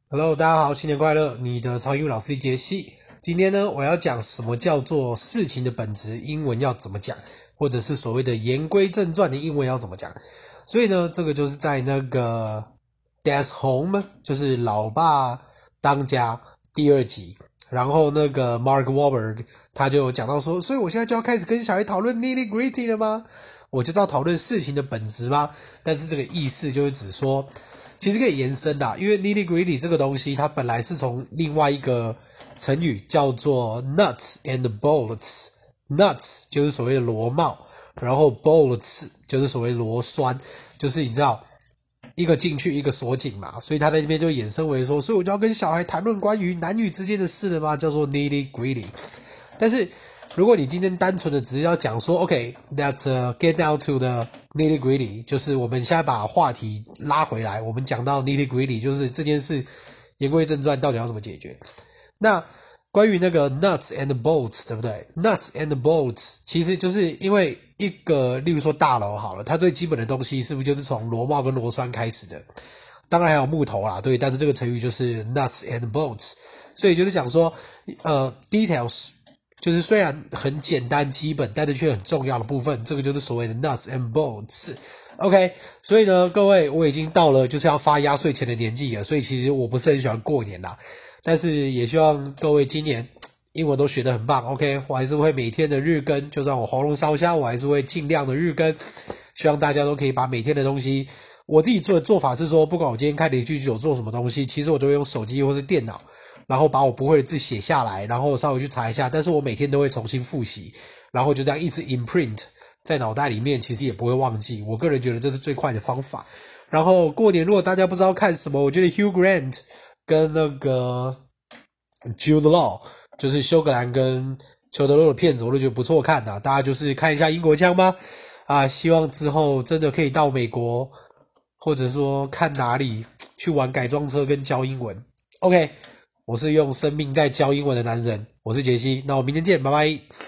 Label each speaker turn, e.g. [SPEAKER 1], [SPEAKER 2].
[SPEAKER 1] Hello，大家好，新年快樂！你的超英文老師傑西。今天呢，我要講什麼叫做事情的本質，英文要怎麼講，或者是所謂的言歸正傳的英文要怎麼講。所以呢，這個就是在那個 Dad's Home， 就是老爸當家第2集。然後那個 Mark Wahlberg 他就講到說，所以我現在就要開始跟小孩討論 nitty-gritty 了嗎？我就要討論事情的本質嗎？但是這個意思就是指說，其實可以延伸的，因為 nitty-gritty 這個東西，它本來是從另外一個成語叫做 nuts and bolts。nuts 就是所謂的螺帽，然後 bolts 就是所謂螺栓，就是你知道一個進去一個鎖緊嘛，所以他在那邊就衍生為說，所以我就要跟小孩談論關於男女之間的事了嗎？叫做 nitty-gritty。但是如果你今天單純的只是要講說 OK，let's get down to the nitty-gritty， 就是我們現在把話題拉回來，我們講到 nitty-gritty， 就是這件事言歸正傳到底要怎麼解決。那關於那個 nuts and bolts， 对不對？ nuts and bolts 其實就是因為一個例如說大樓好了，它最基本的東西是不是就是從螺帽跟螺栓開始的？當然還有木頭啦，對，但是這個成語就是 nuts and bolts， 所以就是講說details，就是雖然很簡單基本，但是卻很重要的部分，這個就是所謂的 nuts and bolts。OK， 所以呢，各位，我已經到了就是要發壓歲錢的年紀了，所以其實我不是很喜歡過年啦，但是也希望各位今年英文都學得很棒。OK， 我還是會每天的日更，就算我喉嚨燒瞎，我還是會盡量的日更。希望大家都可以把每天的東西，我自己做的做法是說，不管我今天開連續劇有做什麼東西，其實我都會用手機或是電腦，然後把我不會的字寫下來，然後稍微去查一下，但是我每天都會重新複習，然後就這樣一直 imprint 在腦袋裡面，其實也不會忘記。我個人覺得這是最快的方法。然後過年如果大家不知道看什麼，我覺得 Hugh Grant 跟那個 Jude Law， 就是休格蘭跟裘德洛的片子，我都覺得不錯看啊。大家就是看一下英國腔吧。希望之後真的可以到美國，或者說看哪裡去玩改裝車跟教英文。OK， 我是用生命在教英文的男人，我是傑西，那我明天見，拜拜。